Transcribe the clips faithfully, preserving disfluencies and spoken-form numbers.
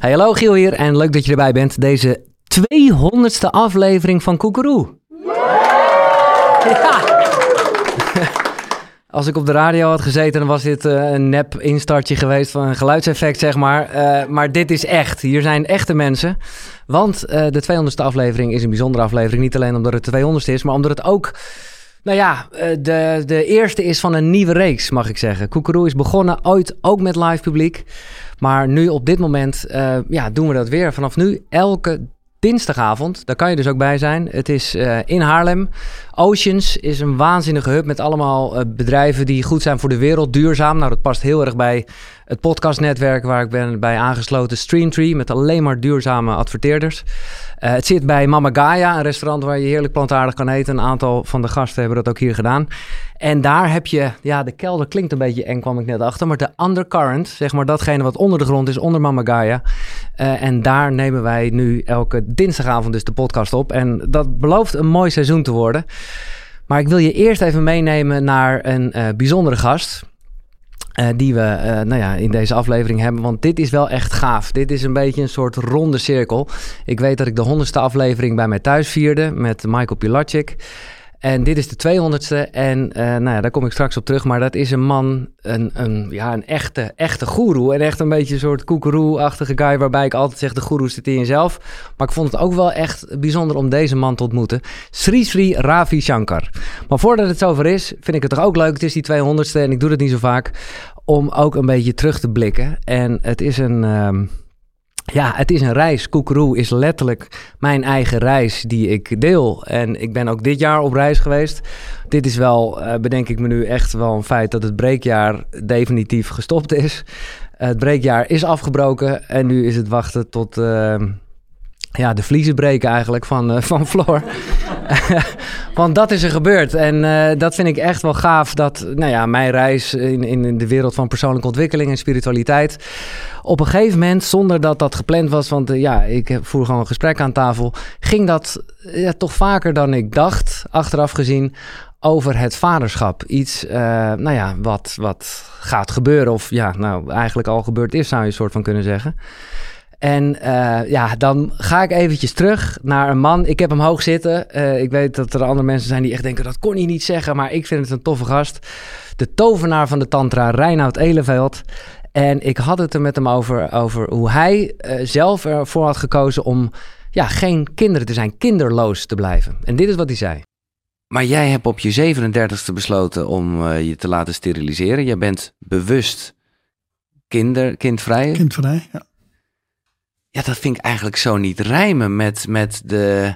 Hey, hallo Giel hier en leuk dat je erbij bent. Deze tweehonderdste aflevering van Koekeroe. Ja. Als ik op de radio had gezeten, dan was dit uh, een nep instartje geweest van een geluidseffect, zeg maar. Uh, maar dit is echt. Hier zijn echte mensen. Want uh, de tweehonderdste aflevering is een bijzondere aflevering. Niet alleen omdat het de tweehonderdste is, maar omdat het ook... Nou ja, de, de eerste is van een nieuwe reeks, mag ik zeggen. Koekeroe is begonnen ooit ook met live publiek. Maar nu op dit moment uh, ja, doen we dat weer. Vanaf nu elke dinsdagavond, daar kan je dus ook bij zijn. Het is uh, in Haarlem. Oceans is een waanzinnige hub met allemaal uh, bedrijven die goed zijn voor de wereld, duurzaam. Nou, dat past heel erg bij het podcastnetwerk waar ik ben bij aangesloten, Streamtree, met alleen maar duurzame adverteerders. Uh, het zit bij Mama Gaia, een restaurant waar je heerlijk plantaardig kan eten. Een aantal van de gasten hebben dat ook hier gedaan. En daar heb je, ja, de kelder klinkt een beetje eng, kwam ik net achter, maar de undercurrent, zeg maar datgene wat onder de grond is, onder Mama Gaia. Uh, en daar nemen wij nu elke dinsdagavond dus de podcast op. En dat belooft een mooi seizoen te worden. Maar ik wil je eerst even meenemen naar een uh, bijzondere gast. Uh, die we uh, nou ja, in deze aflevering hebben. Want dit is wel echt gaaf. Dit is een beetje een soort ronde cirkel. Ik weet dat ik de honderdste aflevering bij mij thuis vierde met Michael Pilatschik. En dit is de tweehonderdste. En uh, nou ja, daar kom ik straks op terug. Maar dat is een man, een, een, ja, een echte, echte goeroe. En echt een beetje een soort koekeroe-achtige guy. Waarbij ik altijd zeg, de goeroe zit in jezelf. Maar ik vond het ook wel echt bijzonder om deze man te ontmoeten. Sri Sri Ravi Shankar. Maar voordat het zover is, vind ik het toch ook leuk. Het is die tweehonderdste en ik doe het niet zo vaak. Om ook een beetje terug te blikken. En het is een... Um, Ja, het is een reis. Koekeroe is letterlijk mijn eigen reis die ik deel. En ik ben ook dit jaar op reis geweest. Dit is wel, uh, bedenk ik me nu, echt wel een feit dat het breekjaar definitief gestopt is. Uh, het breekjaar is afgebroken en nu is het wachten tot... Uh, Ja, de vliezen breken eigenlijk van, uh, van Floor. Want dat is er gebeurd. En uh, dat vind ik echt wel gaaf. Dat nou ja, mijn reis in, in de wereld van persoonlijke ontwikkeling en spiritualiteit... op een gegeven moment, zonder dat dat gepland was... want uh, ja, ik voer gewoon een gesprek aan tafel... ging dat uh, toch vaker dan ik dacht, achteraf gezien... over het vaderschap. Iets uh, nou ja, wat, wat gaat gebeuren. Of ja, nou eigenlijk al gebeurd is, zou je een soort van kunnen zeggen... En uh, ja, dan ga ik eventjes terug naar een man. Ik heb hem hoog zitten. Uh, ik weet dat er andere mensen zijn die echt denken... dat kon hij niet zeggen, maar ik vind het een toffe gast. De tovenaar van de tantra, Reinoud Eleveld. En ik had het er met hem over, over hoe hij uh, zelf ervoor had gekozen... om ja, geen kinderen te zijn, kinderloos te blijven. En dit is wat hij zei. Maar jij hebt op je zevenendertigste besloten om uh, je te laten steriliseren. Jij bent bewust kinder, kindvrij. Kindvrij, ja. Ja, dat vind ik eigenlijk zo niet rijmen met, met de...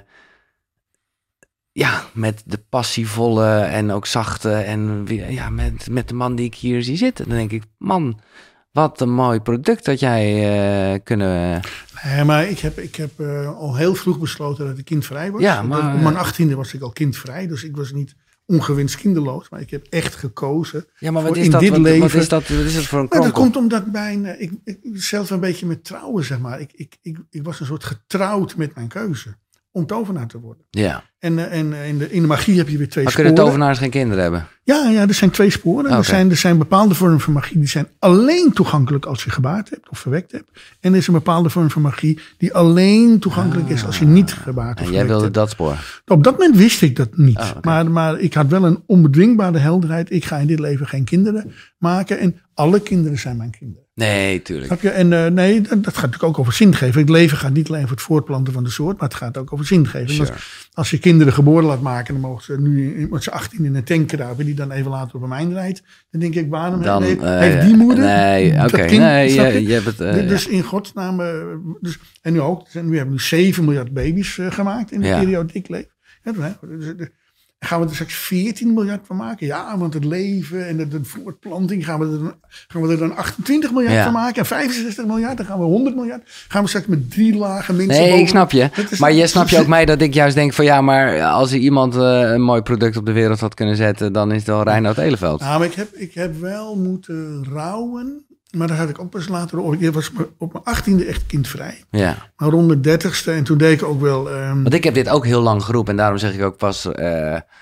Ja, met de passievolle en ook zachte... en ja, met, met de man die ik hier zie zitten. Dan denk ik, man, wat een mooi product dat jij uh, kunnen... Nee, maar ik heb, ik heb uh, al heel vroeg besloten dat ik kindvrij was. Ja, maar... Op mijn achttiende was ik al kindvrij, dus ik was niet... ongewenst kinderloos, maar ik heb echt gekozen. Ja, maar wat is in dat? Dit Wat, leven. wat is dat? Wat is dat voor een kronkel? Nou, dat komt omdat mijn, ik, ik zelf een beetje met trouwen, zeg maar. Ik, ik, ik, ik was een soort getrouwd met mijn keuze om tovenaar te worden. Ja. En, en in, de, in de magie heb je weer twee maar sporen. Kunnen tovenaars geen kinderen hebben? Ja, ja, er zijn twee sporen. Okay. Er, zijn, er zijn bepaalde vormen van magie die zijn alleen toegankelijk als je gebaard hebt of verwekt hebt. En er is een bepaalde vorm van magie die alleen toegankelijk ah. is als je niet gebaard of en jij wilde hebt. dat spoor? Op dat moment wist ik dat niet. Oh, okay. maar, maar ik had wel een onbedwingbare helderheid. Ik ga in dit leven geen kinderen maken. En alle kinderen zijn mijn kinderen. Nee, tuurlijk. Snap je? En uh, nee, dat gaat natuurlijk ook over zingeving. Het leven gaat niet alleen over het voortplanten van de soort, maar het gaat ook over zingeving. Sure. Als, als je kinderen geboren laat maken, dan mogen ze nu met z'n achttien in een tank kruipen die dan even later op een mijn rijdt. Dan denk ik, waarom dan, heeft, uh, heeft die moeder nee, dat okay, kind? Nee, je? je, je hebt het, uh, dus ja. in godsnaam, uh, dus, en nu ook, nu hebben we nu zeven miljard baby's uh, gemaakt in de ja. periode die ik leef. Ja, dus, dus, gaan we er straks veertien miljard van maken? Ja, want het leven en de, de voortplanting gaan we, er dan, gaan we er dan achtentwintig miljard ja. van maken. En vijfenzestig miljard, dan gaan we honderd miljard. Gaan we straks met drie lagen mensen Nee, boven. Ik snap je. Maar je snap je ook mij dat ik juist denk van ja, maar als er iemand uh, een mooi product op de wereld had kunnen zetten, dan is het wel Reinoud Eleveld. Nou, maar ik heb, ik heb wel moeten rouwen. Maar daar had ik ook pas later over. Ik was op mijn achttiende echt kindvrij. Ja. Maar rond de dertigste. En toen deed ik ook wel... Um... Want ik heb dit ook heel lang geroepen. En daarom zeg ik ook pas... Uh,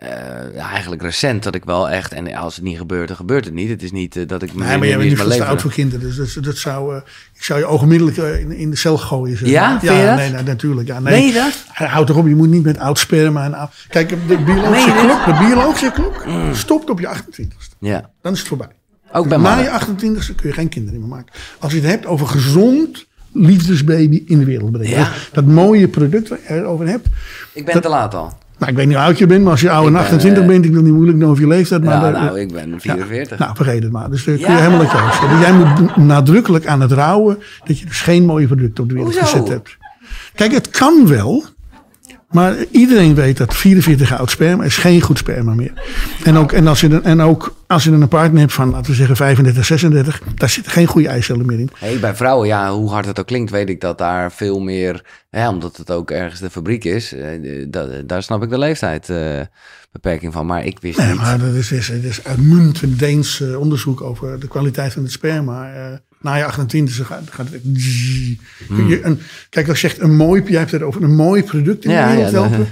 Uh, ja, eigenlijk recent dat ik wel echt... En als het niet gebeurt, dan gebeurt het niet. Het is niet uh, dat ik... Nee, maar jij bent niet veel te oud voor kinderen. Dus dat, dat zou... Uh, ik zou je ogenblikkelijk uh, in, in de cel gooien. Zeg. Ja? Ja, ja nee, nee, natuurlijk. Ja, nee. Meen je dat? Houd toch op, je moet niet met oud sperma en oud... Kijk, de biologische klok, de biologische klok mm. stopt op je achtentwintigste. Ja. Dan is het voorbij. Ook bij Na mannen. je achtentwintigste kun je geen kinderen meer maken. Als je het hebt over gezond liefdesbaby in de wereld brengen. Ja. Dat mooie product waar je het over hebt. Ik ben dat, te laat al. Nou, ik weet niet hoe oud je bent, maar als je ouder dan achtentwintig uh, bent, ik wil niet moeilijk doen over je leeftijd. Maar ja, de, nou, ik ben vierenveertig. Ja, nou, vergeet het maar. Dus daar ja. kun je helemaal uit je hoofd zetten. Jij moet nadrukkelijk aan het rouwen dat je dus geen mooie producten op de wereld Hoezo? gezet hebt. Kijk, het kan wel. Maar iedereen weet dat vierenveertig oud sperma is geen goed sperma meer. En ook, en als je, en ook als je een partner hebt van, laten we zeggen, vijfendertig, zesendertig... daar zitten geen goede eicellen meer in. Hey, bij vrouwen, ja, hoe hard het ook klinkt, weet ik dat daar veel meer... Ja, omdat het ook ergens de fabriek is, uh, dat, daar snap ik de leeftijdsbeperking uh, van. Maar ik wist nee, niet... maar dat is, is, is uitmuntend Deens uh, onderzoek over de kwaliteit van het sperma... Uh, na je achtentwintig gaat, gaat het... Hmm. Je, een, kijk, als je zegt een mooi... Jij hebt het over een mooi product in de ja, wereld ja, helpen.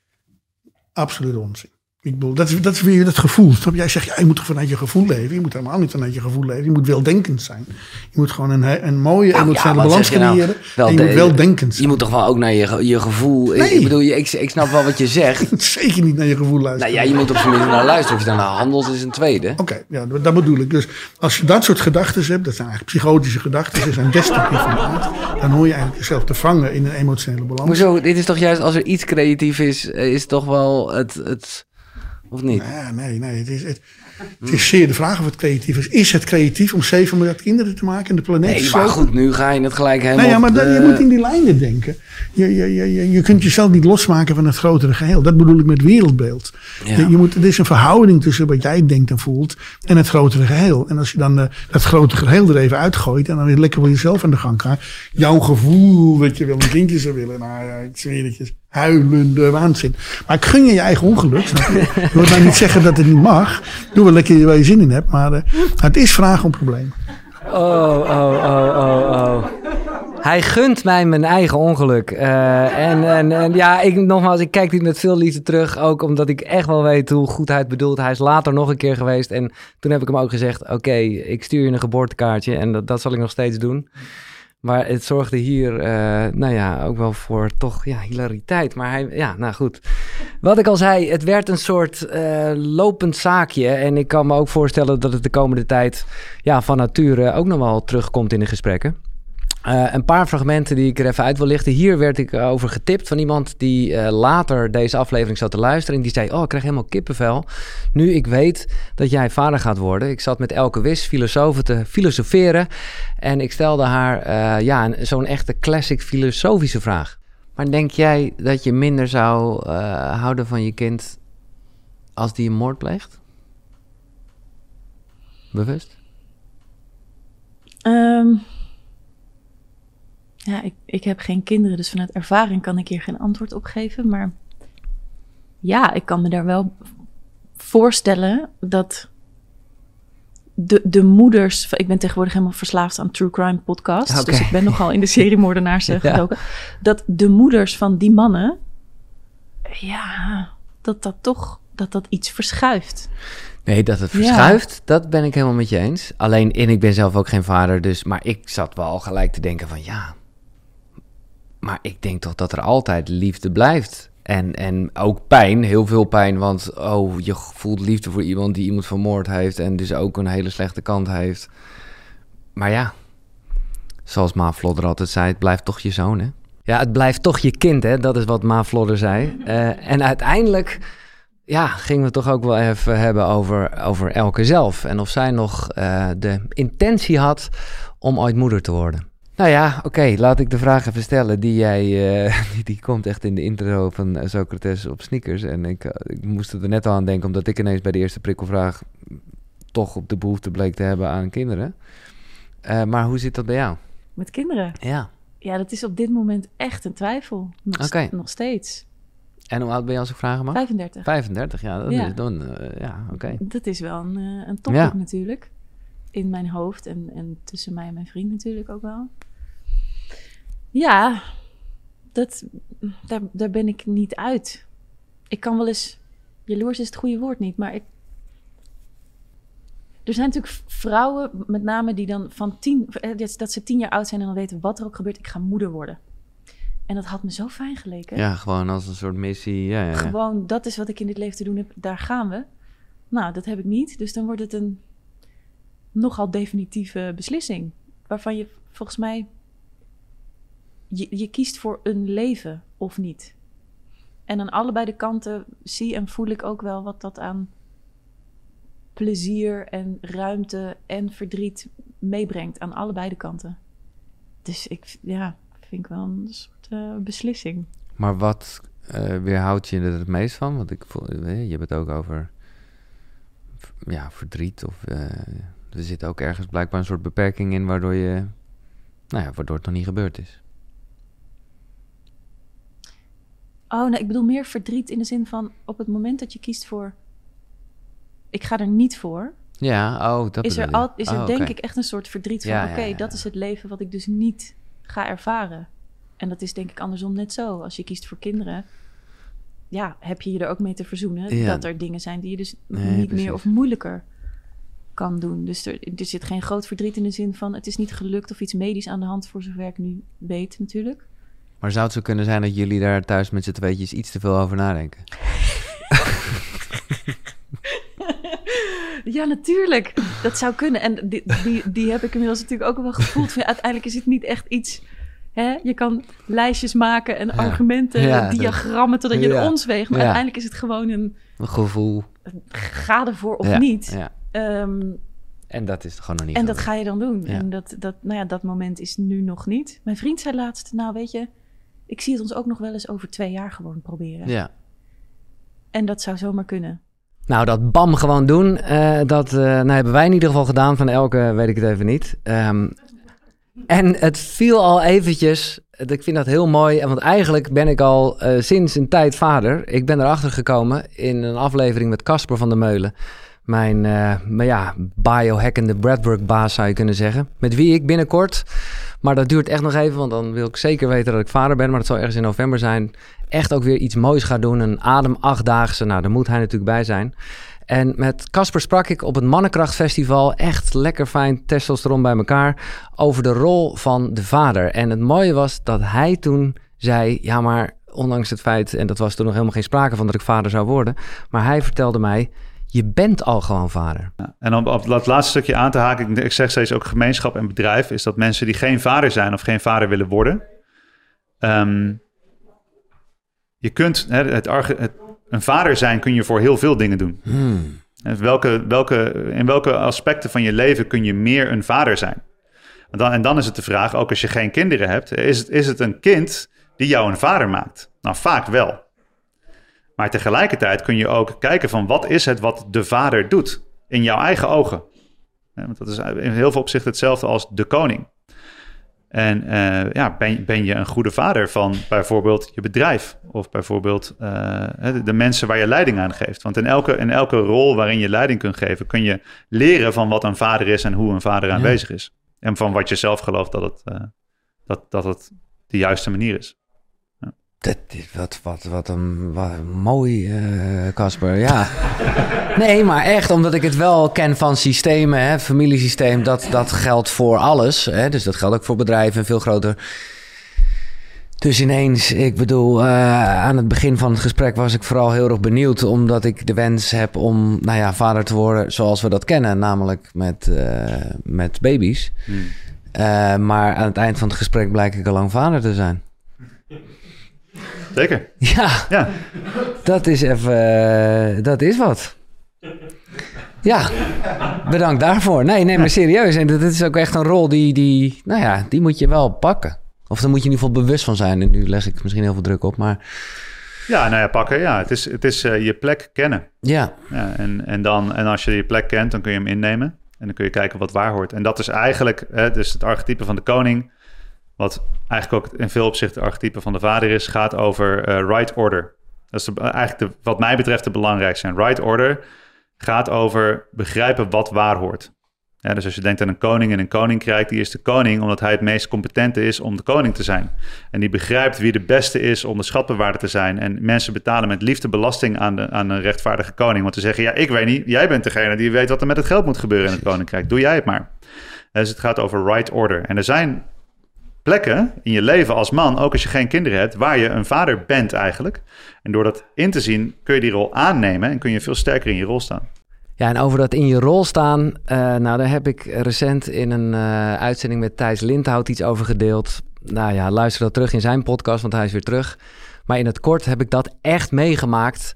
Absoluut onzin. Ik bedoel, dat is, dat is weer het gevoel. Jij zegt, ja, je moet toch vanuit je gevoel leven. Je moet helemaal niet vanuit je gevoel leven. Je moet weldenkend zijn. Je moet gewoon een, een mooie nou, emotionele ja, balans nou? creëren. Wel en je de, moet weldenkend zijn. Je moet toch wel ook naar je, je gevoel... Nee. Ik, ik bedoel, ik, ik snap wel wat je zegt. Zeker niet naar je gevoel luisteren. Nou ja, je moet op zijn minst naar luisteren. Of je daarna handelt is een tweede. Oké, okay, ja, dat bedoel ik. Dus als je dat soort gedachten hebt... dat zijn eigenlijk psychotische gedachten... die zijn destructief van aard... dan hoor je eigenlijk jezelf te vangen in een emotionele balans. Hoezo? Dit is toch juist, als er iets creatief is... is toch wel het... het Of niet? Nee, nee, nee. Het is, het, het is zeer de vraag of het creatief is. Is het creatief om zeven miljard kinderen te maken en de planeet nee, te maar goed, nu ga je het gelijk helemaal... Nee, ja, maar de... je moet in die lijnen denken. Je, je, je, je kunt jezelf niet losmaken van het grotere geheel. Dat bedoel ik met wereldbeeld. Ja. Je, je moet, er is een verhouding tussen wat jij denkt en voelt en het grotere geheel. En als je dan uh, dat grotere geheel er even uitgooit en dan weer lekker voor jezelf aan de gang gaat. Jouw gevoel dat je wel een kindje zou willen. Nou ja, ik zweer het je. Huilende waanzin. Maar ik gun je je eigen ongeluk. Snap je? Je moet nou niet zeggen dat het niet mag. Doe wel lekker waar je zin in hebt. Maar uh, het is vraag om probleem. Oh, oh, oh, oh, oh. Hij gunt mij mijn eigen ongeluk. Uh, en, en, en ja, ik, nogmaals, ik kijk dit met veel liefde terug. Ook omdat ik echt wel weet hoe goed hij het bedoelt. Hij is later nog een keer geweest. En toen heb ik hem ook gezegd, oké, okay, ik stuur je een geboortekaartje. En dat, dat zal ik nog steeds doen. Maar het zorgde hier, uh, nou ja, ook wel voor toch, ja, hilariteit. Maar hij, ja, nou goed. Wat ik al zei, het werd een soort uh, lopend zaakje. En ik kan me ook voorstellen dat het de komende tijd, ja, van nature ook nog wel terugkomt in de gesprekken. Uh, een paar fragmenten die ik er even uit wil lichten. Hier werd ik over getipt van iemand die uh, later deze aflevering zat te luisteren. En die zei, oh, ik krijg helemaal kippenvel. Nu ik weet dat jij vader gaat worden. Ik zat met Elke Wis, filosoof, te filosoferen. En ik stelde haar uh, ja, een, zo'n echte classic filosofische vraag. Maar denk jij dat je minder zou uh, houden van je kind als die een moord pleegt? Bewust? Um... Ja, ik, ik heb geen kinderen, dus vanuit ervaring kan ik hier geen antwoord op geven. Maar ja, ik kan me daar wel voorstellen dat de, de moeders... Ik ben tegenwoordig helemaal verslaafd aan true crime podcasts. Okay. Dus ik ben nogal in de serie moordenaars ja. gedoken. Dat de moeders van die mannen... Ja, dat dat toch dat dat iets verschuift. Nee, dat het verschuift, ja. Dat ben ik helemaal met je eens. Alleen, en ik ben zelf ook geen vader, dus... Maar ik zat wel gelijk te denken van ja... Maar ik denk toch dat er altijd liefde blijft. En, en ook pijn, heel veel pijn. Want oh, je voelt liefde voor iemand die iemand vermoord heeft... en dus ook een hele slechte kant heeft. Maar ja, zoals Ma Vlodder altijd zei... het blijft toch je zoon, hè? Ja, het blijft toch je kind, hè? Dat is wat Ma Vlodder zei. Uh, en uiteindelijk... Ja, gingen we het toch ook wel even hebben over, over Elke zelf. En of zij nog uh, de intentie had om ooit moeder te worden. Nou ja, oké, okay, laat ik de vraag even stellen. Die jij, uh, die, die komt echt in de intro van Socrates op sneakers. En ik, uh, ik moest er net al aan denken, omdat ik ineens bij de eerste prikkelvraag toch op de behoefte bleek te hebben aan kinderen. Uh, maar hoe zit dat bij jou? Met kinderen? Ja. Ja, dat is op dit moment echt een twijfel. Nog, okay. st- nog steeds. En hoe oud ben je als ik vragen mag? vijfendertig. vijfendertig, ja. Dat ja. is dan, uh, ja, oké. Okay. Dat is wel een, uh, een topic ja. natuurlijk. In mijn hoofd en, en tussen mij en mijn vriend natuurlijk ook wel. Ja, dat, daar, daar ben ik niet uit. Ik kan wel eens jaloers is het goede woord niet, maar ik... Er zijn natuurlijk vrouwen, met name die dan van tien... dat ze tien jaar oud zijn en dan weten wat er ook gebeurt. Ik ga moeder worden. En dat had me zo fijn geleken. Ja, gewoon als een soort missie. Ja, ja, ja. Gewoon, dat is wat ik in dit leven te doen heb. Daar gaan we. Nou, dat heb ik niet. Dus dan wordt het een nogal definitieve beslissing. Waarvan je volgens mij... Je, je kiest voor een leven of niet. En aan allebei de kanten zie en voel ik ook wel wat dat aan plezier en ruimte en verdriet meebrengt. Aan allebei de kanten. Dus ik, ja, vind ik wel een soort uh, beslissing. Maar wat uh, weerhoudt je er het meest van? Want ik voel, je hebt het ook over ja, verdriet. Of, uh, er zit ook ergens blijkbaar een soort beperking in waardoor je, nou ja, waardoor het nog niet gebeurd is. Oh, nee, ik bedoel meer verdriet in de zin van op het moment dat je kiest voor... Ik ga er niet voor. Ja, oh, dat is er, al, is er oh, denk okay. ik echt een soort verdriet van... Ja, oké, okay, ja, ja, dat ja. is het leven wat ik dus niet ga ervaren. En dat is denk ik andersom net zo. Als je kiest voor kinderen... ja, heb je je er ook mee te verzoenen... Ja. dat er dingen zijn die je dus Nee, niet precies. meer of moeilijker kan doen. Dus er, er zit geen groot verdriet in de zin van... het is niet gelukt of iets medisch aan de hand... voor zover ik nu weet natuurlijk. Maar zou het zo kunnen zijn dat jullie daar thuis met z'n tweetjes iets te veel over nadenken? Ja, natuurlijk. Dat zou kunnen. En die, die, die heb ik inmiddels natuurlijk ook wel gevoeld. Van, ja, uiteindelijk is het niet echt iets... Hè? Je kan lijstjes maken en Ja. argumenten, Ja, diagrammen... totdat je ja. er ons weegt. Maar Ja. uiteindelijk is het gewoon een... Een gevoel. Ga ervoor of ja. niet. Ja. Um, En dat is gewoon nog niet en gebeurd. dat ga je dan doen. Ja. En dat, dat, nou ja, dat moment is nu nog niet. Mijn vriend zei laatst... Nou, weet je... Ik zie het ons ook nog wel eens over twee jaar gewoon proberen. Ja. En dat zou zomaar kunnen. Nou, dat bam gewoon doen, uh, dat uh, nou, hebben wij in ieder geval gedaan. Van elke weet ik het even niet. Um, en het viel al eventjes, ik vind dat heel mooi. Want eigenlijk ben ik al uh, sinds een tijd vader. Ik ben erachter gekomen in een aflevering met Casper van der Meulen. Mijn uh, maar ja, biohackende breathwork-baas zou je kunnen zeggen. Met wie ik binnenkort, maar dat duurt echt nog even... want dan wil ik zeker weten dat ik vader ben... maar dat zal ergens in november zijn... echt ook weer iets moois gaan doen. Een adem achtdaagse. Nou, daar moet hij natuurlijk bij zijn. En met Casper sprak ik op het Mannenkrachtfestival... echt lekker fijn testosteron bij elkaar... over de rol van de vader. En het mooie was dat hij toen zei... ja, maar ondanks het feit... en dat was toen nog helemaal geen sprake van dat ik vader zou worden... maar hij vertelde mij... je bent al gewoon vader. Ja, en om op dat laatste stukje aan te haken... ik zeg steeds ook gemeenschap en bedrijf... is dat mensen die geen vader zijn of geen vader willen worden... Um, je kunt... Hè, het, het, een vader zijn kun je voor heel veel dingen doen. Hmm. Welke, welke, in welke aspecten van je leven kun je meer een vader zijn? En dan, en dan is het de vraag, ook als je geen kinderen hebt... is het, is het een kind die jou een vader maakt? Nou, vaak wel. Maar tegelijkertijd kun je ook kijken van... wat is het wat de vader doet in jouw eigen ogen? Ja, want dat is in heel veel opzichten hetzelfde als de koning. En uh, ja, ben, ben je een goede vader van bijvoorbeeld je bedrijf... of bijvoorbeeld uh, de, de mensen waar je leiding aan geeft. Want in elke, in elke rol waarin je leiding kunt geven... kun je leren van wat een vader is en hoe een vader Ja. aanwezig is. En van wat je zelf gelooft dat het, uh, dat, dat het de juiste manier is. Dat is wat, wat, wat een wat een mooi, Casper. Uh, ja. Nee, maar echt, omdat ik het wel ken van systemen, hè, familiesysteem, dat, dat geldt voor alles. Hè, dus dat geldt ook voor bedrijven en veel groter. Dus ineens, ik bedoel, uh, aan het begin van het gesprek was ik vooral heel erg benieuwd, omdat ik de wens heb om, nou ja, vader te worden zoals we dat kennen, namelijk met, uh, met baby's. Hmm. Uh, maar aan het eind van het gesprek blijk ik al lang vader te zijn. Zeker. Ja, ja, dat is even, uh, dat is wat. Ja, bedankt daarvoor. Nee, nee, maar serieus. En dat is ook echt een rol die, die, nou ja, die moet je wel pakken. Of daar moet je in ieder geval bewust van zijn. En nu leg ik misschien heel veel druk op, maar... Ja, nou ja, pakken. Ja, het is, het is uh, je plek kennen. Ja. ja en, en, dan, en als je je plek kent, dan kun je hem innemen. En dan kun je kijken wat waar hoort. En dat is eigenlijk hè, dus het archetype van de koning... wat eigenlijk ook in veel opzichten het archetype van de vader is... gaat over uh, right order. Dat is de, eigenlijk de, wat mij betreft de belangrijkste. En right order gaat over begrijpen wat waar hoort. Ja, dus als je denkt aan een koning en een koninkrijk, die is de koning omdat hij het meest competente is om de koning te zijn. En die begrijpt wie de beste is om de schatbewaarder te zijn. En mensen betalen met liefde belasting aan, de, aan een rechtvaardige koning. Want ze zeggen, ja, ik weet niet, jij bent degene die weet wat er met het geld moet gebeuren in het koninkrijk. Doe jij het maar. Dus het gaat over right order. En er zijn plekken in je leven als man, ook als je geen kinderen hebt, waar je een vader bent eigenlijk. En door dat in te zien, kun je die rol aannemen en kun je veel sterker in je rol staan. Ja, en over dat in je rol staan, uh, nou daar heb ik recent in een uh, uitzending met Thijs Lindhout iets over gedeeld. Nou ja, luister dat terug in zijn podcast, want hij is weer terug. Maar in het kort heb ik dat echt meegemaakt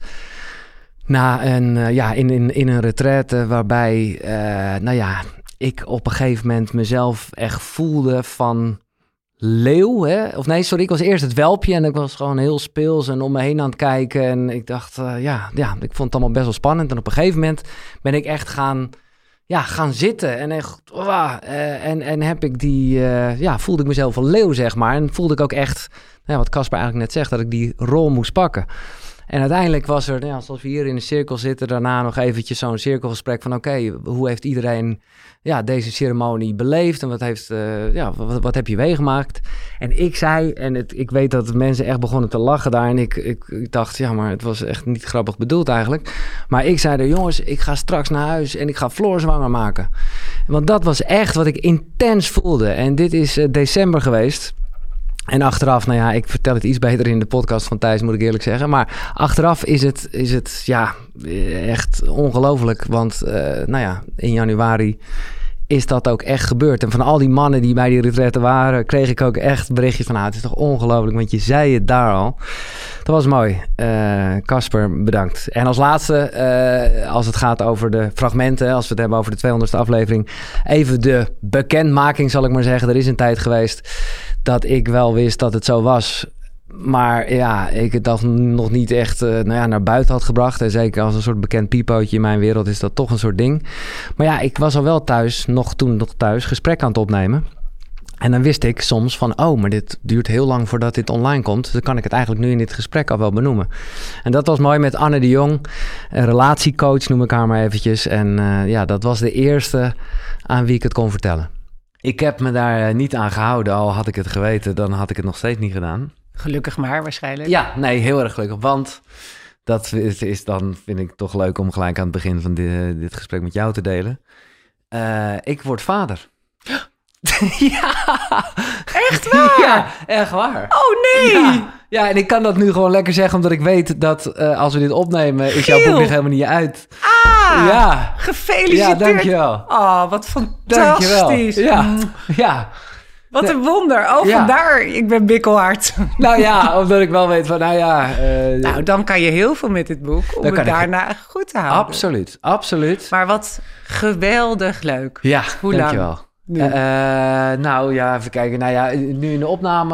na een, uh, ja, in, in, in een retraite waarbij, uh, nou ja, ik op een gegeven moment mezelf echt voelde van leeuw, hè? Of nee, sorry, ik was eerst het welpje en ik was gewoon heel speels en om me heen aan het kijken. En ik dacht, uh, ja, ja, ik vond het allemaal best wel spannend. En op een gegeven moment ben ik echt gaan, ja, gaan zitten. En echt, uh, uh, en, en heb ik die, uh, ja, voelde ik mezelf een leeuw, zeg maar. En voelde ik ook echt, nou ja, wat Casper eigenlijk net zegt, dat ik die rol moest pakken. En uiteindelijk was er, ja, zoals we hier in een cirkel zitten, daarna nog eventjes zo'n cirkelgesprek van oké, okay, hoe heeft iedereen ja, deze ceremonie beleefd en wat, heeft, uh, ja, wat, wat heb je meegemaakt? En ik zei, en het, ik weet dat mensen echt begonnen te lachen daar en ik, ik, ik dacht, ja, maar het was echt niet grappig bedoeld eigenlijk. Maar ik zei er, jongens, ik ga straks naar huis en ik ga Floor zwanger maken. Want dat was echt wat ik intens voelde. En dit is uh, december geweest. En achteraf, nou ja, ik vertel het iets beter in de podcast van Thijs, moet ik eerlijk zeggen. Maar achteraf is het, is het ja, echt ongelooflijk. Want, uh, nou ja, in januari is dat ook echt gebeurd. En van al die mannen die bij die retraite waren, kreeg ik ook echt berichtjes van, ah, het is toch ongelooflijk, want je zei het daar al. Dat was mooi. Casper, uh, bedankt. En als laatste, uh, als het gaat over de fragmenten, als we het hebben over de tweehonderdste aflevering, even de bekendmaking, zal ik maar zeggen. Er is een tijd geweest dat ik wel wist dat het zo was. Maar ja, ik het dat nog niet echt uh, nou ja, naar buiten had gebracht. En zeker als een soort bekend piepootje in mijn wereld is dat toch een soort ding. Maar ja, ik was al wel thuis, nog toen nog thuis, gesprek aan het opnemen. En dan wist ik soms van, oh, maar dit duurt heel lang voordat dit online komt. Dus dan kan ik het eigenlijk nu in dit gesprek al wel benoemen. En dat was mooi met Anne de Jong, een relatiecoach noem ik haar maar eventjes. En uh, ja, dat was de eerste aan wie ik het kon vertellen. Ik heb me daar niet aan gehouden, al had ik het geweten, dan had ik het nog steeds niet gedaan. Gelukkig maar, waarschijnlijk. Ja, nee, heel erg gelukkig. Want dat is, is dan, vind ik toch leuk om gelijk aan het begin van dit, dit gesprek met jou te delen. Uh, ik word vader. Ja. Echt waar? Ja, echt waar. Oh nee! Ja. Ja, en ik kan dat nu gewoon lekker zeggen, omdat ik weet dat uh, als we dit opnemen, is jouw boek nog helemaal niet uit. Ah, ja. Gefeliciteerd. Ja, dankjewel. Oh, wat fantastisch. Dankjewel. Ja, ja. Wat een wonder. Oh, ja. Vandaar, ik ben bikkelhard. Nou ja, omdat ik wel weet van, nou ja... Uh, nou, dan kan je heel veel met dit boek, om het daarna ik... goed te houden. Absoluut, absoluut. Maar wat geweldig leuk. Ja, hoe dankjewel. lang? Uh, uh, nou ja, even kijken. Nou ja, nu in de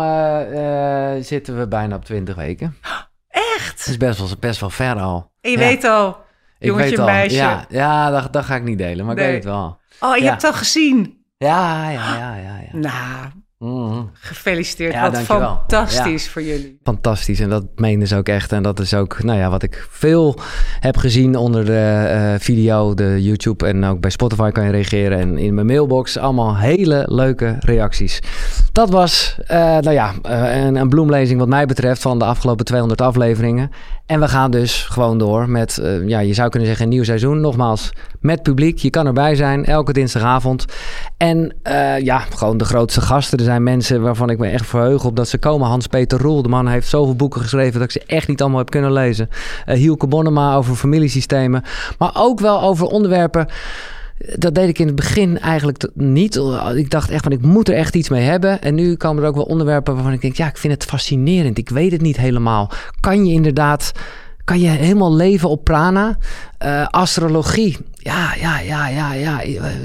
opname uh, zitten we bijna op twintig weken. Echt? Dat is best wel, best wel ver al. En je ja. weet al, jongetje, ik weet al. meisje. Ja, ja dat, dat ga ik niet delen, maar nee. Ik weet het wel. Oh, je ja. hebt het al gezien? Ja, ja, ja, ja. ja. Nou, mm-hmm. gefeliciteerd. Ja, wat fantastisch ja. voor jullie. Fantastisch. En dat meenden ze ook echt. En dat is ook, nou ja, wat ik veel heb gezien onder de uh, video, de YouTube en ook bij Spotify kan je reageren. En in mijn mailbox allemaal hele leuke reacties. Dat was, uh, nou ja, uh, een, een bloemlezing wat mij betreft van de afgelopen tweehonderd afleveringen. En we gaan dus gewoon door met, uh, ja, je zou kunnen zeggen een nieuw seizoen. Nogmaals, met publiek. Je kan erbij zijn, elke dinsdagavond. En uh, ja, gewoon de grootste gasten. Er zijn mensen waarvan ik me echt verheug op dat ze komen. Hans-Peter Roel, de man heeft zoveel boeken geschreven dat ik ze echt niet allemaal heb kunnen lezen. Uh, Hielke Bonnema over familiesystemen. Maar ook wel over onderwerpen. Dat deed ik in het begin eigenlijk niet. Ik dacht echt van, ik moet er echt iets mee hebben. En nu komen er ook wel onderwerpen waarvan ik denk, ja, ik vind het fascinerend. Ik weet het niet helemaal. Kan je inderdaad, kan je helemaal leven op prana? Uh, astrologie. Ja, ja, ja, ja, ja.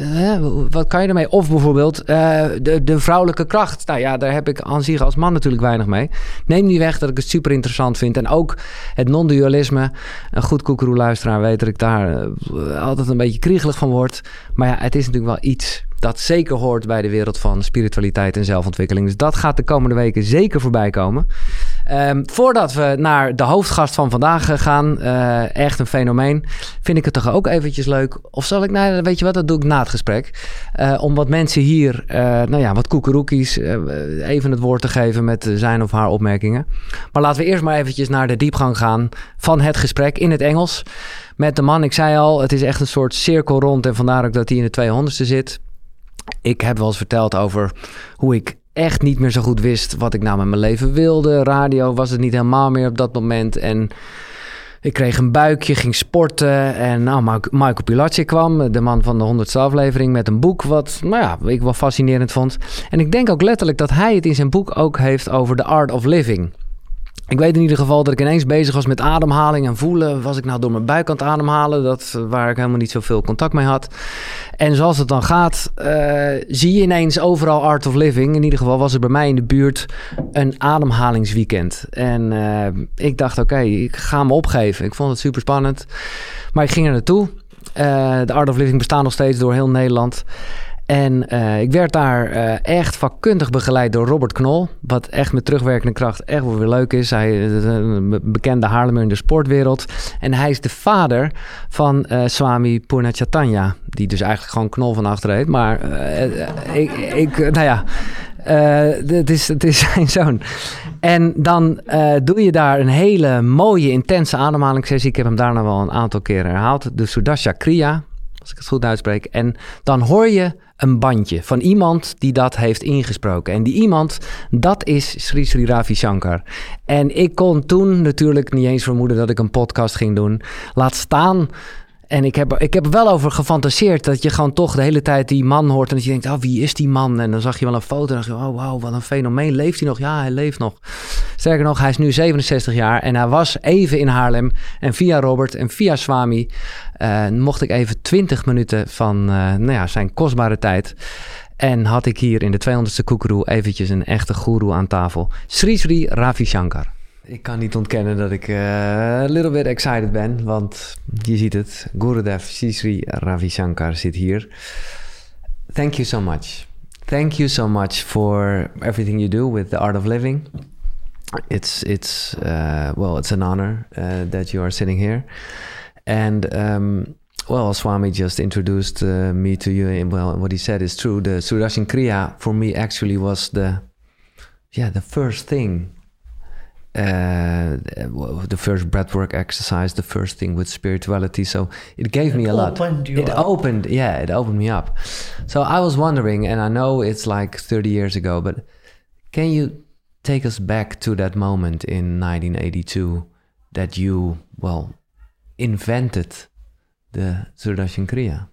Wat kan je ermee? Of bijvoorbeeld uh, de, de vrouwelijke kracht. Nou ja, daar heb ik aan zich als man natuurlijk weinig mee. Neem niet weg dat ik het super interessant vind. En ook het non-dualisme. Een goed koekeroe-luisteraar weet dat ik daar uh, altijd een beetje kriegelig van word. Maar ja, het is natuurlijk wel iets dat zeker hoort bij de wereld van spiritualiteit en zelfontwikkeling. Dus dat gaat de komende weken zeker voorbij komen. Um, voordat we naar de hoofdgast van vandaag gaan, uh, echt een fenomeen, vind ik het toch ook eventjes leuk. Of zal ik, nou weet je wat, dat doe ik na het gesprek. Uh, om wat mensen hier, uh, nou ja, wat koekeroekies, uh, even het woord te geven met zijn of haar opmerkingen. Maar laten we eerst maar eventjes naar de diepgang gaan van het gesprek in het Engels. Met de man, ik zei al, het is echt een soort cirkel rond en vandaar ook dat hij in de tweehonderdste zit. Ik heb wel eens verteld over hoe ik echt niet meer zo goed wist wat ik nou met mijn leven wilde. Radio was het niet helemaal meer op dat moment. En ik kreeg een buikje, ging sporten. En nou, Michael Pilatschik kwam, de man van de honderdste aflevering, met een boek wat nou ja, ik wel fascinerend vond. En ik denk ook letterlijk dat hij het in zijn boek ook heeft over The Art of Living. Ik weet in ieder geval dat ik ineens bezig was met ademhaling en voelen. Was ik nou door mijn buik aan het ademhalen? Dat, waar ik helemaal niet zoveel contact mee had. En zoals het dan gaat, uh, zie je ineens overal Art of Living. In ieder geval was er bij mij in de buurt een ademhalingsweekend. En uh, ik dacht, oké, okay, ik ga me opgeven. Ik vond het super spannend. Maar ik ging er naartoe. Uh, de Art of Living bestaat nog steeds door heel Nederland. En uh, ik werd daar uh, echt vakkundig begeleid door Robert Knol. Wat echt met terugwerkende kracht echt wel weer leuk is. Hij is een bekende Haarlemmer in de sportwereld. En hij is de vader van uh, Swami Purnachatanya. Die dus eigenlijk gewoon Knol van achter heet. Maar uh, ik, ik, nou ja, uh, het, is, het is zijn zoon. En dan uh, doe je daar een hele mooie, intense ademhalingssessie. Ik heb hem daarna wel een aantal keren herhaald. De Sudarsha Kriya, als ik het goed uitspreek. En dan hoor je een bandje van iemand die dat heeft ingesproken. En die iemand, dat is Sri Sri Ravi Shankar. En ik kon toen natuurlijk niet eens vermoeden dat ik een podcast ging doen. Laat staan. En ik heb, ik heb er wel over gefantaseerd dat je gewoon toch de hele tijd die man hoort. En dat je denkt, oh, wie is die man? En dan zag je wel een foto en dacht je, oh, wauw, wat een fenomeen. Leeft hij nog? Ja, hij leeft nog. Sterker nog, hij is nu zevenenzestig jaar en hij was even in Haarlem. En via Robert en via Swami uh, mocht ik even twintig minuten van uh, nou ja, zijn kostbare tijd. En had ik hier in de tweehonderdste Koekeroe eventjes een echte goeroe aan tafel. Sri Sri Ravi Shankar. Ik kan niet ontkennen dat ik uh, a little bit excited ben, want je ziet het, Gurudev Sri Sri Ravi Shankar zit hier. Thank you so much. Thank you so much for everything you do with the Art of Living. It's it's uh, well, it's an honor uh, that you are sitting here. And um, well, Swami just introduced uh, me to you. And well, what he said is true. The Sudarshan Kriya for me actually was the yeah the first thing. Uh, the first breathwork exercise, the first thing with spirituality. So it gave it me a lot. Opened you it up. opened, yeah, it opened me up. So I was wondering, and I know it's like thirty years ago, but can you take us back to that moment in nineteen eighty-two that you, well, invented the Sudarshan Kriya?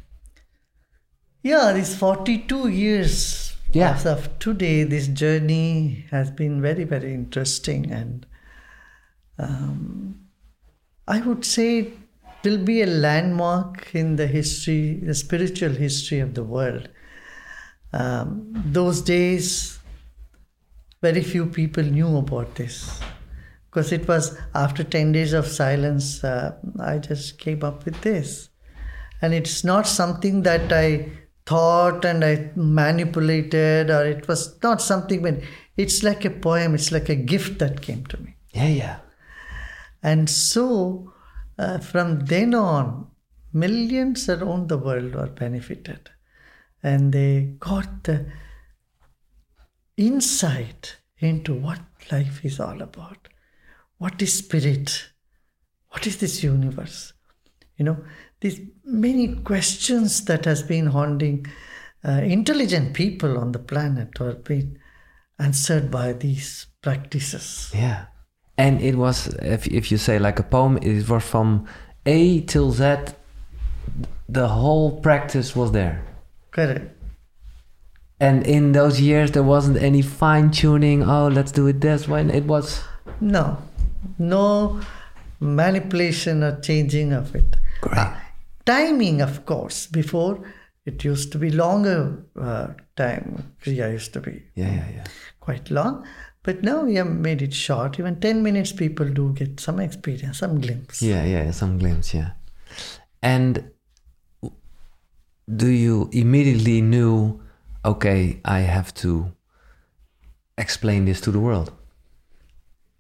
Yeah, these forty-two years. Yeah. As of today, this journey has been very, very interesting, and um, I would say it will be a landmark in the history, the spiritual history of the world. Um, those days, very few people knew about this, because it was after ten days of silence, uh, I just came up with this. And it's not something that I thought and I manipulated, or it was not something, but it's like a poem, it's like a gift that came to me. Yeah, yeah. And so uh, from then on, millions around the world were benefited, and they got the insight into what life is all about. What is spirit? What is this universe? You know, these many questions that has been haunting uh, intelligent people on the planet are being answered by these practices. Yeah. And it was, if, if you say like a poem, it was from A till Z, the whole practice was there. Correct. And in those years, there wasn't any fine-tuning, oh, let's do it this way. It was... No. No manipulation or changing of it. Great. Uh, timing, of course. Before, it used to be longer uh, time. Kriya used to be yeah, yeah, yeah. quite long. But now we have made it short. Even ten minutes, people do get some experience, some glimpse. Yeah, yeah, some glimpse, yeah. And do you immediately knew, okay, I have to explain this to the world?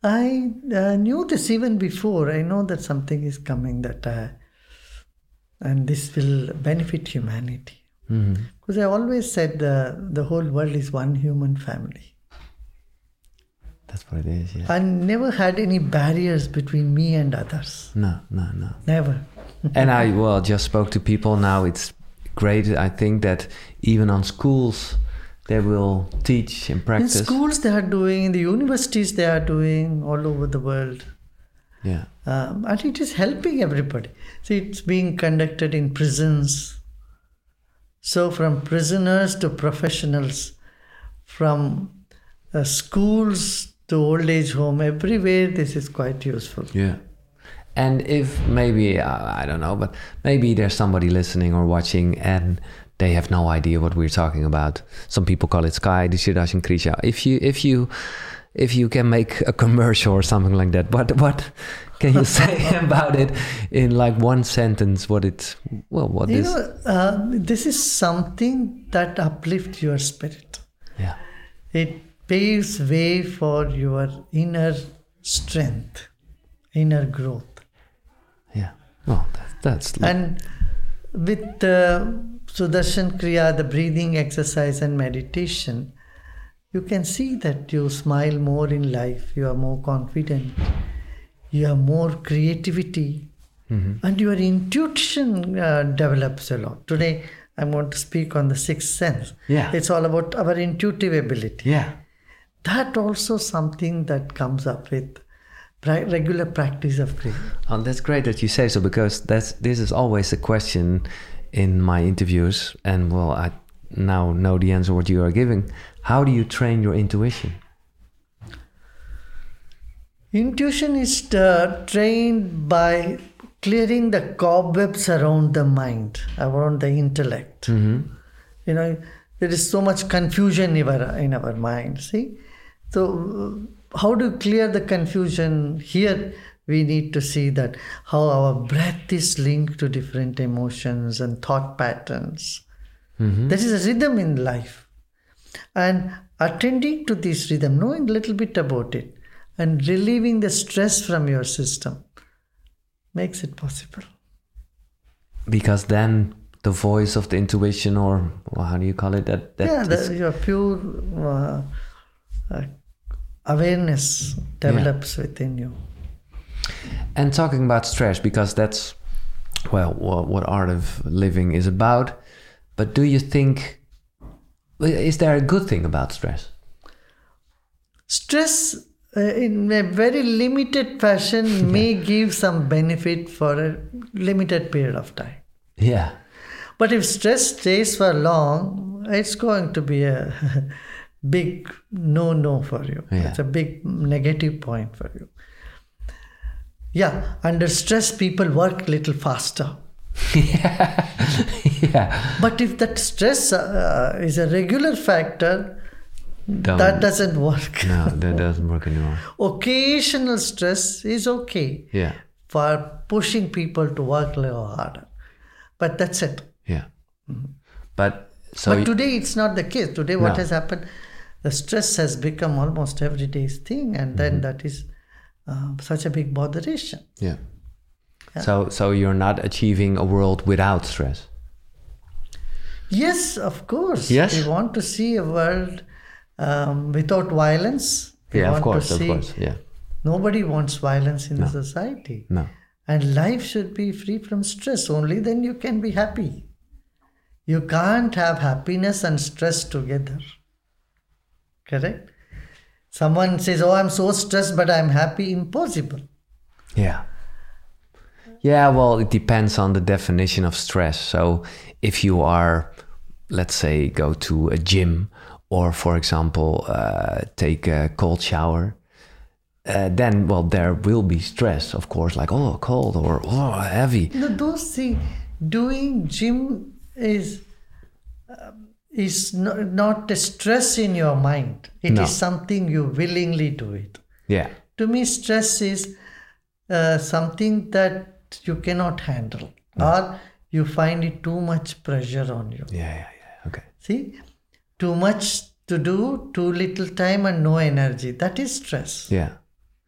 I uh, knew this even before. I know that something is coming that uh, and this will benefit humanity. Mm-hmm. Because I always said uh, the whole world is one human family. That's what it is, yeah. I never had any barriers between me and others. No, no, no. Never. And I, well, just spoke to people now. It's great. I think that even on schools, they will teach and practice. In schools they are doing, in the universities they are doing, all over the world. Yeah. Um, and it is helping everybody. See, it's being conducted in prisons. So from prisoners to professionals, from uh, schools to old age home, everywhere this is quite useful. Yeah. And if maybe, uh, I don't know, but maybe there's somebody listening or watching and they have no idea what we're talking about. Some people call it Sky, Dishidash and Krisha. If you, if you, if you can make a commercial or something like that, what, what can you say about it in like one sentence? What it, well, what you is? know, uh, this is something that uplifts your spirit. Yeah. It paves way for your inner strength, inner growth. Yeah. Well, that, that's. And with uh, Sudarshan Kriya, the breathing exercise and meditation, you can see that you smile more in life, you are more confident, you have more creativity, mm-hmm. and your intuition uh, develops a lot. Today, I'm going to speak on the sixth sense. Yeah. It's all about our intuitive ability. Yeah. That also something that comes up with pra- regular practice of Kriya. Oh, that's great that you say so, because that's this is always a question in my interviews, and well, I now know the answer what you are giving. How do you train your intuition? Intuition is uh, trained by clearing the cobwebs around the mind, around the intellect. Mm-hmm. You know, there is so much confusion in our, in our mind, see? So, uh, how to clear the confusion? Here, we need to see that how our breath is linked to different emotions and thought patterns. Mm-hmm. There is a rhythm in life. And attending to this rhythm, knowing a little bit about it, and relieving the stress from your system makes it possible. Because then the voice of the intuition, or well, how do you call it? That, that yeah, the, your pure uh, uh, awareness develops yeah. within you. And talking about stress, because that's, well, what, what Art of Living is about. But do you think, is there a good thing about stress? Stress, uh, in a very limited fashion, yeah. may give some benefit for a limited period of time. Yeah. But if stress stays for long, it's going to be a big no-no for you. Yeah. It's a big negative point for you. Yeah, under stress, people work a little faster. yeah. yeah. But if that stress uh, is a regular factor, Don't, that doesn't work. No, that doesn't work anymore. Occasional stress is okay yeah. for pushing people to work a little harder. But that's it. Yeah. Mm-hmm. But so But you, today it's not the case. Today what no. has happened, the stress has become almost everyday's thing, and then mm-hmm. that is uh, such a big botheration. Yeah. yeah. So so you're not achieving a world without stress? Yes, of course. Yes. We want to see a world um, without violence. We yeah, want of course, to see, of course. Yeah. Nobody wants violence in no. the society. No. And life should be free from stress. Only then you can be happy. You can't have happiness and stress together. Correct? Someone says, oh, I'm so stressed, but I'm happy. Impossible. Yeah. Yeah, well, it depends on the definition of stress. So if you are, let's say, go to a gym or, for example, uh, take a cold shower, uh, then, well, there will be stress, of course, like, oh, cold or oh, heavy. No, those things, doing gym is... Uh, is not, not a stress in your mind. It no. is something you willingly do it. Yeah. To me, stress is uh, something that you cannot handle, no. or you find it too much pressure on you. Yeah, yeah, yeah. Okay. See, too much to do, too little time and no energy. That is stress. Yeah.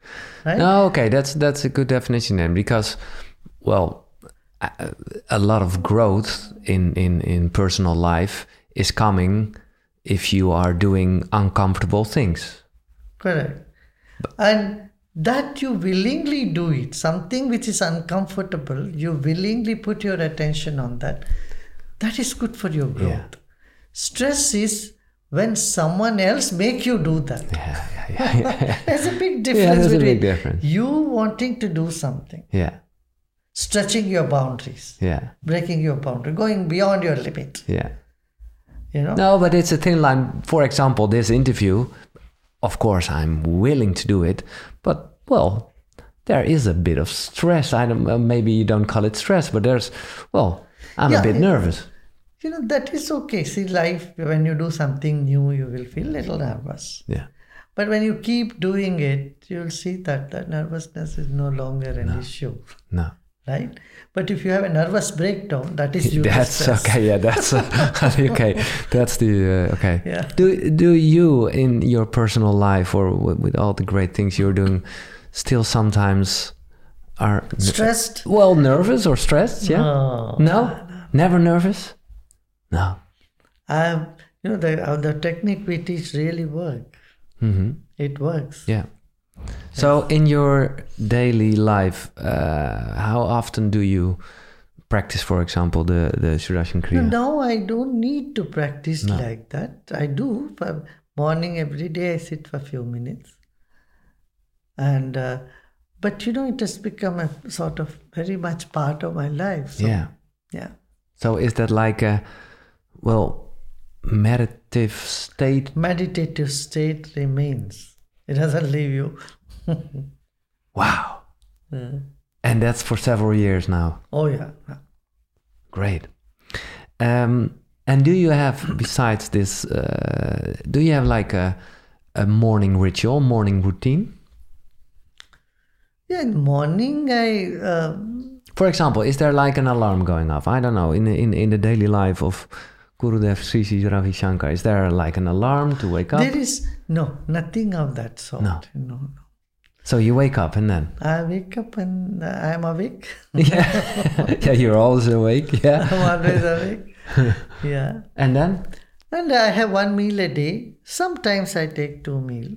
Right? No, okay, that's that's a good definition then, because, well, a, a lot of growth in, in, in personal life is coming if you are doing uncomfortable things. Correct. And that you willingly do it, something which is uncomfortable, you willingly put your attention on that, that is good for your growth. Yeah. Stress is when someone else make you do that. Yeah, yeah, yeah. There's a big difference Yeah, there's a between big difference. you wanting to do something, Yeah, stretching your boundaries, yeah, breaking your boundary, going beyond your limit. yeah. You know? No, but it's a thin line. For example, this interview, of course, I'm willing to do it, but, well, there is a bit of stress. I don't, uh, maybe you don't call it stress, but there's, well, I'm Yeah, a bit it- nervous. You know, that is okay. See, life, when you do something new, you will feel a little nervous. Yeah, But when you keep doing it, you'll see that that nervousness is no longer an issue, no. right? But if you have a nervous breakdown, that is due to That's stress. okay. Yeah, that's uh, okay. That's the uh, okay. Yeah. Do do you in your personal life or w- with all the great things you're doing, still sometimes are n- Stressed? well, nervous or stressed? Yeah. No. No. Never nervous. No. Um, you know, the, uh, the technique we teach really work. Mm-hmm. It works. Yeah. So in your daily life, uh, how often do you practice, for example, the the Sudarshan No, Kriya? now I don't need to practice No. like that. I do. For morning, every day I sit for a few minutes. And, uh, but you know, it has become a sort of very much part of my life. So, Yeah. Yeah. So is that like a, well, meditative state? Meditative state remains. It doesn't leave you. Wow. Uh, And that's for several years now. oh, yeah. Great. Um, and do you have, besides this, uh, do you have like a, a morning ritual, morning routine? Yeah, in morning I... Uh, For example, is there like an alarm going off? I don't know, in the, in, in the daily life of Gurudev Sri Sri Ravi Shankar, is there like an alarm to wake up? there is... No, nothing of that sort. No. No, no. So you wake up and then? I wake up and I am awake. Yeah, yeah, you're always awake, yeah. I'm always awake. Yeah. And then? And I have one meal a day. Sometimes I take two meals.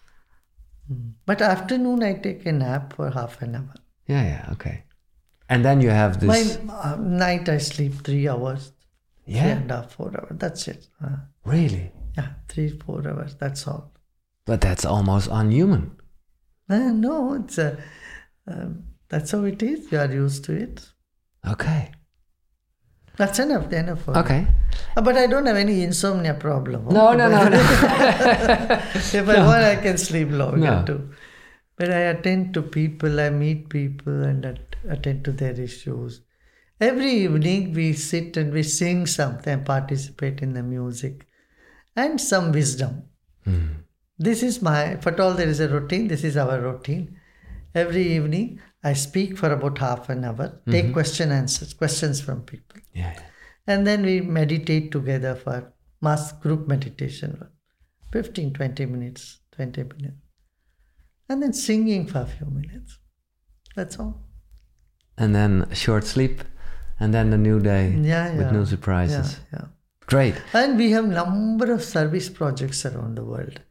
But afternoon I take a nap for half an hour. Yeah, yeah, okay. And then you have this... My uh, night I sleep three hours. Yeah? Three and a half, four hours. That's it. Uh, Really? yeah, three, four hours. That's all. But that's almost unhuman. Uh, no, it's a, um, that's how it is. You are used to it. Okay. That's enough. Enough for me. Okay. Uh, But I don't have any insomnia problem. No, no, no, no. If I want, I can sleep longer No. too. But I attend to people, I meet people and at- attend to their issues. Every evening we sit and we sing something, participate in the music and some wisdom. This is my, if at all there is a routine, this is our routine. Every evening I speak for about half an hour, take question answers, questions from people. Yeah, yeah. And then we meditate together for mass group meditation, fifteen, twenty minutes, twenty minutes. And then singing for a few minutes. That's all. And then a short sleep, and then the new day Yeah, with yeah. new surprises. Yeah, yeah. Great. And we have number of service projects around the world.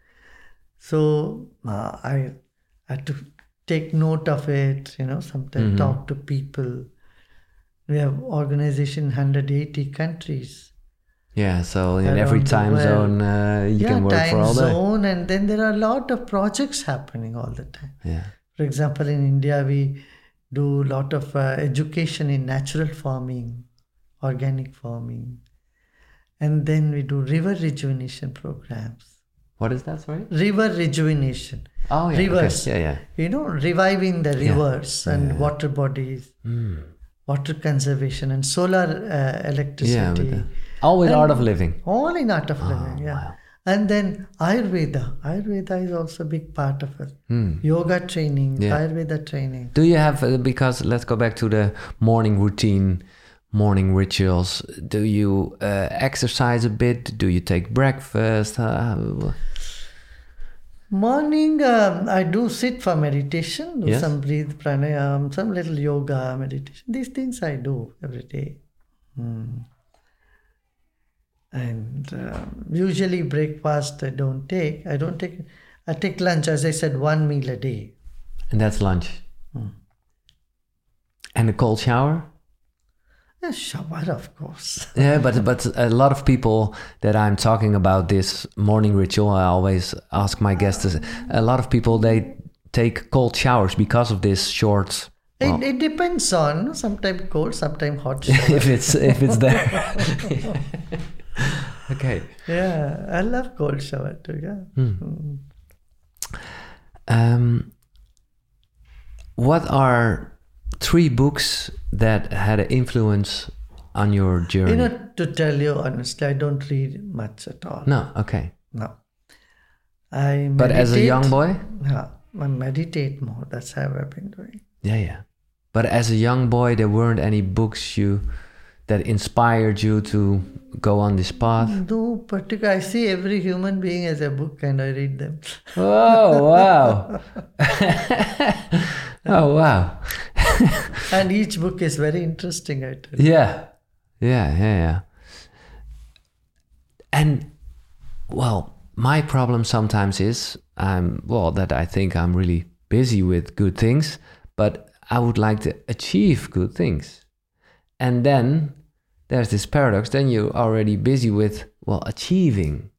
So uh, I had to take note of it, you know, sometimes talk to people. We have organization in one hundred eighty countries. Yeah, so in Around every the time world. zone uh, you yeah, can work time for all day. zone, and then there are a lot of projects happening all the time. Yeah. For example, in India, we do a lot of uh, education in natural farming, organic farming. And then we do river rejuvenation programs. What is that, sorry? River rejuvenation. Oh, yeah. Rivers. Okay. Yeah, yeah. You know, reviving the Yeah. rivers and Yeah. water bodies, Mm. water conservation and solar uh, electricity. Yeah, with the, all with And art of living. All in art of living, yeah. wow. And then Ayurveda. Ayurveda is also a big part of it. Hmm. Yoga training, Yeah. Ayurveda training. Do you have, uh, because let's go back to the morning routine, morning rituals. Do you uh, exercise a bit? Do you take breakfast? Uh, Morning, um, I do sit for meditation, do Yes. some breathe pranayam, some little yoga meditation. These things I do every day. Hmm. And um, usually breakfast I don't take. I don't take. I take lunch, as I said, one meal a day. And that's lunch. Hmm. And a cold shower? A shower, of course. Yeah, but but a lot of people that I'm talking about this morning ritual, I always ask my guests, a lot of people, they take cold showers because of this short... Well, It, it depends on, sometimes cold, sometimes hot shower. if it's if it's there. Okay. Yeah, I love cold shower too, yeah. Hmm. Mm. Um, what are three books that had an influence on your journey? You know, to tell you honestly, I don't read much at all. No, okay. No. I But as a young boy? Yeah, I meditate more. That's how I've been doing. Yeah, yeah. But as a young boy, there weren't any books you that inspired you to go on this path? No particular. I see every human being as a book and I read them. Oh, wow. Oh, wow. And each book is very interesting, I tell you. Yeah. Yeah, yeah, yeah. And, well, my problem sometimes is, um, well, that I think I'm really busy with good things, but I would like to achieve good things. And then there's this paradox, then you're already busy with, well, achieving.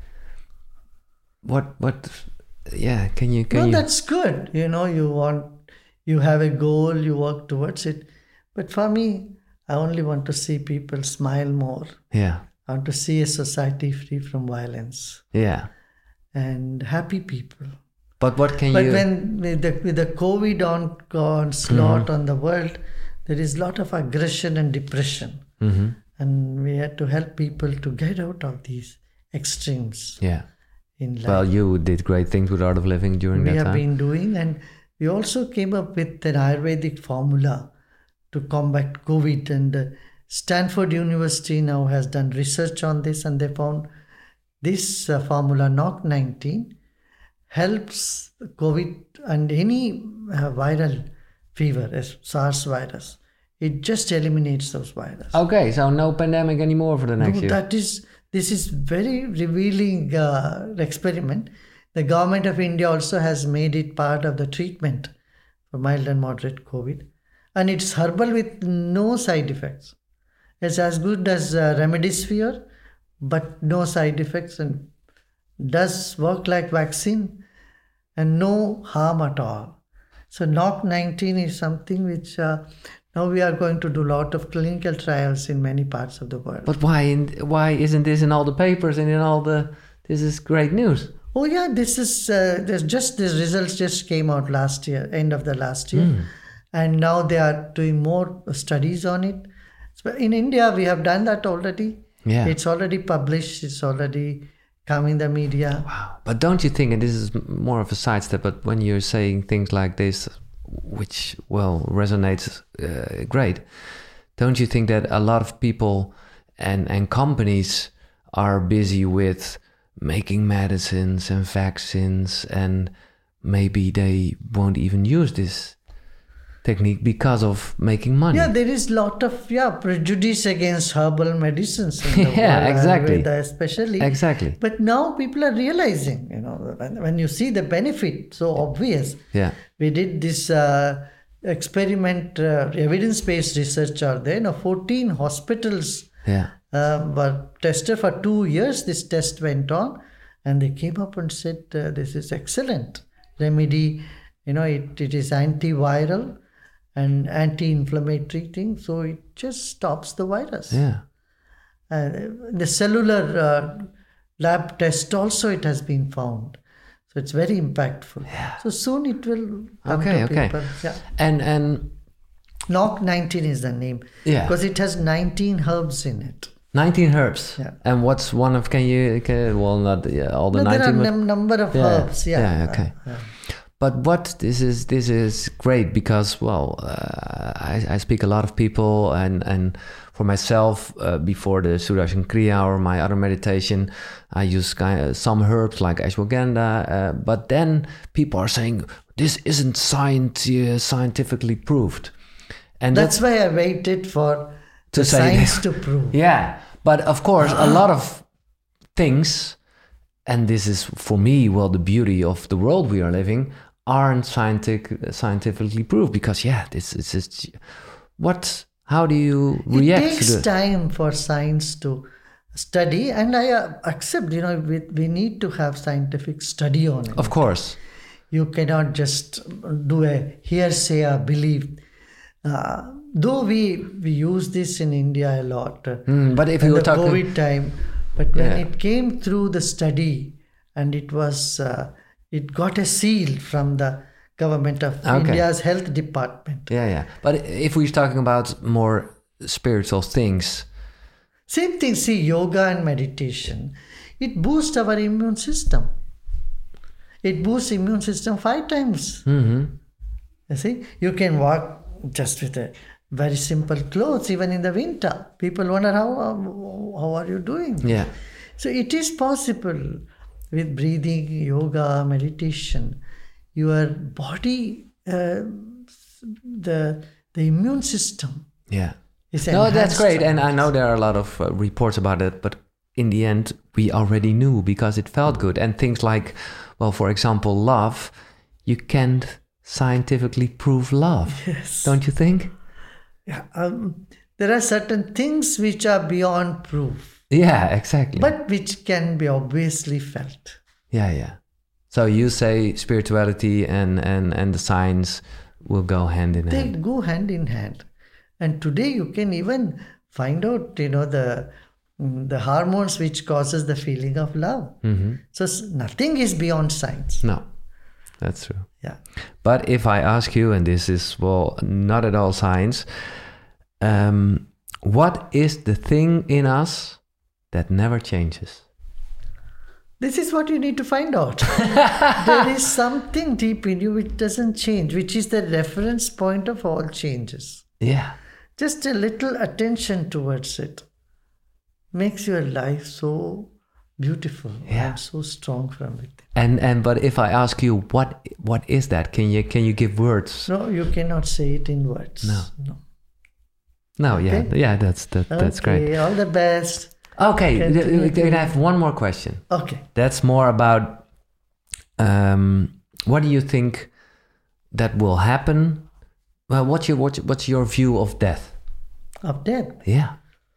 What, what, yeah, can you, can No, you? that's good. You know, you want, you have a goal, you work towards it. But for me, I only want to see people smile more. Yeah. I want to see a society free from violence. Yeah. And happy people. But what can but you... But when with the, with the COVID on, onslaught mm-hmm. on the world, there is a lot of aggression and depression. Mm-hmm. And we had to help people to get out of these extremes. Yeah. In life. Well, you did great things with Art of Living during we that time. We have been doing, and we also came up with an Ayurvedic formula to combat COVID. And uh, Stanford University now has done research on this, and they found this uh, formula, N O C nineteen, helps COVID and any uh, viral fever, as SARS virus. It just eliminates those viruses. Okay, so no pandemic anymore for the next no, year. That is, this is very revealing uh, experiment. The government of India also has made it part of the treatment for mild and moderate COVID. And it's herbal with no side effects. It's as good as uh, Remdesivir, but no side effects, and does work like vaccine and no harm at all. So N O C nineteen is something which uh, now we are going to do a lot of clinical trials in many parts of the world. But why in, why isn't this in all the papers and in all the... This is great news. Oh yeah, this is... Uh, there's just these results just came out last year, end of the last year. Mm. And now they are doing more studies on it. So in India, we have done that already. Yeah. It's already published. It's already come in the media. Wow. But don't you think, and this is more of a sidestep, but when you're saying things like this, which, well, resonates uh, great, don't you think that a lot of people and, and companies are busy with making medicines and vaccines, and maybe they won't even use this technique because of making money? Yeah, there is a lot of yeah prejudice against herbal medicines in the yeah, world, exactly. Ayurveda especially. Exactly. But now people are realizing, you know, when, when you see the benefit, so obvious. Yeah. We did this uh, experiment, uh, evidence-based research are there. You know, fourteen hospitals yeah. uh, were tested for two years. This test went on, and they came up and said, uh, this is excellent remedy. You know, it, it is antiviral and anti-inflammatory thing, so it just stops the virus. Yeah. Uh, the cellular uh, lab test also, it has been found. So it's very impactful. Yeah. So soon it will come okay, to okay. people. Yeah. And and N O C nineteen is the name. Yeah. Because it has nineteen herbs in it. nineteen herbs. Yeah. And what's one of, can you, can, well, not yeah, all the no, nineteen. There are a num- number of yeah. herbs. Yeah. Yeah, okay. Uh, yeah. But what this is, this is great because, well, uh, I, I speak a lot of people, and, and for myself, uh, before the Sudarshan Kriya or my other meditation, I use kind of some herbs like ashwagandha. Uh, but then people are saying, this isn't science, uh, scientifically proved. And that's, that's why I waited for to the science to prove. Yeah, but of course, a lot of things, and this is for me, well, the beauty of the world we are living, aren't scientific, scientifically proved because, yeah, this is just what. How do you react? It takes to the... time for science to study, and I uh, accept. You know, we we need to have scientific study on it. Of course, you cannot just do a hearsay or belief. Uh, though we we use this in India a lot, uh, mm, but if you were the talking COVID time, but when yeah. it came through the study and it was uh, it got a seal from the government of okay. India's health department. Yeah, yeah. But if we're talking about more spiritual things, same thing. See, yoga and meditation, it boosts our immune system. It boosts immune system five times. Mm-hmm. You see, you can walk just with a very simple clothes, even in the winter. People wonder how how are you doing? Yeah. So it is possible with breathing, yoga, meditation. Your body, uh, the the immune system. Yeah. Is no, that's great, and I know there are a lot of uh, reports about it, but in the end, we already knew because it felt good. And things like, well, for example, love, you can't scientifically prove love. Yes. Don't you think? Yeah. Um, there are certain things which are beyond proof. Yeah, exactly. But which can be obviously felt. Yeah, yeah. So you say spirituality and, and, and the science will go hand in they hand. They go hand in hand. And today you can even find out, you know, the the hormones which causes the feeling of love. Mm-hmm. So nothing is beyond science. No, that's true. Yeah. But if I ask you, and this is, well, not at all science, um, what is the thing in us that never changes? This is what you need to find out. There is something deep in you which doesn't change, which is the reference point of all changes. Yeah. Just a little attention towards it makes your life so beautiful yeah. and so strong from it. And and but if I ask you what what is that? Can you can you give words? No, you cannot say it in words. No. No. No, okay. yeah, yeah, that's that, that's okay, great. All the best. Okay, I have one more question. Okay. That's more about um, what do you think that will happen? Well, what's your what's, what's your view of death? Of death? Yeah.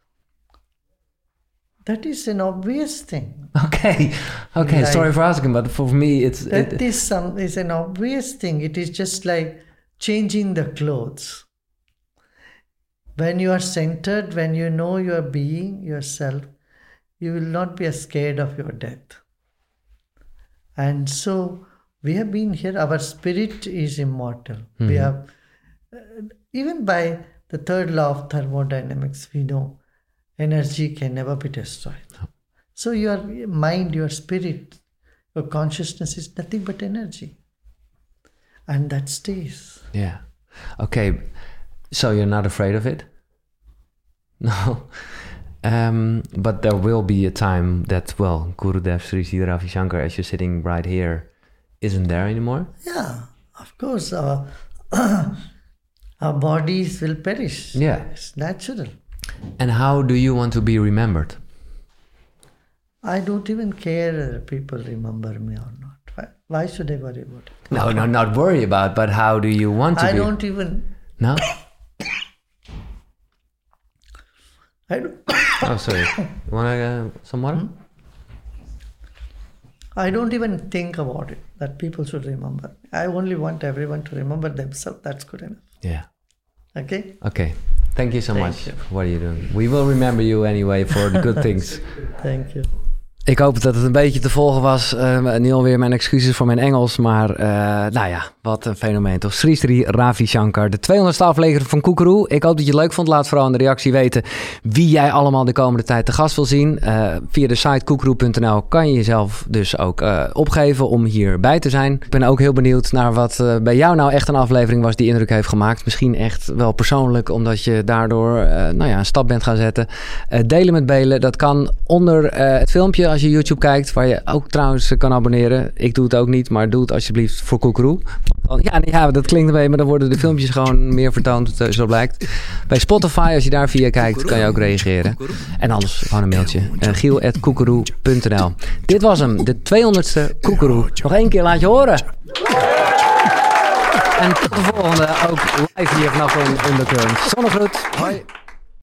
That is an obvious thing. Okay, okay. Like, sorry for asking, but for me, it's that it, is some is an obvious thing. It is just like changing the clothes. When you are centered, when you know your being, yourself, you will not be scared of your death. And so we have been here. Our spirit is immortal. Mm-hmm. We have, uh, even by the third law of thermodynamics, we know energy can never be destroyed. No. So your mind, your spirit, your consciousness is nothing but energy. And that stays. Yeah. Okay. So you're not afraid of it? No. Um, but there will be a time that, well, Gurudev Sri Sri Ravi Shankar, as you're sitting right here, isn't there anymore? Yeah, of course. Our, our bodies will perish. Yeah. It's natural. And how do you want to be remembered? I don't even care if people remember me or not. Why, why should I worry about it? No, no, not worry about, but how do you want to I be? I don't even... No? I don't... Oh, sorry. You want uh, some water? Hmm? I don't even think about it, that people should remember. I only want everyone to remember themselves. That's good enough. Yeah. Okay? Okay. Thank you so Thank much you. for what are you doing. We will remember you anyway for the good things. Thank you. Ik hoop dat het een beetje te volgen was. Uh, nu alweer mijn excuses voor mijn Engels. Maar uh, nou ja, wat een fenomeen toch. Sri Sri Ravi Shankar, de tweehonderdste aflevering van Koekeroe. Ik hoop dat je het leuk vond. Laat vooral in de reactie weten wie jij allemaal de komende tijd te gast wil zien. Uh, via de site koekeroe punt n l kan je jezelf dus ook uh, opgeven om hierbij te zijn. Ik ben ook heel benieuwd naar wat uh, bij jou nou echt een aflevering was die indruk heeft gemaakt. Misschien echt wel persoonlijk, omdat je daardoor uh, nou ja, een stap bent gaan zetten. Uh, delen met Belen, dat kan onder uh, het filmpje als je YouTube kijkt, waar je ook trouwens kan abonneren. Ik doe het ook niet, maar doe het alsjeblieft voor Koekeroe. Ja, ja, dat klinkt een beetje, maar dan worden de filmpjes gewoon meer vertoond, zo blijkt. Bij Spotify, als je daar via kijkt, kan je ook reageren. En anders gewoon een mailtje. Uh, giel at koekeroe punt n l. Dit was hem, de tweehonderdste Koekeroe. Nog één keer, laat je horen. En tot de volgende, ook live hier vanaf Undercurrent. Zonnegroet, hoi.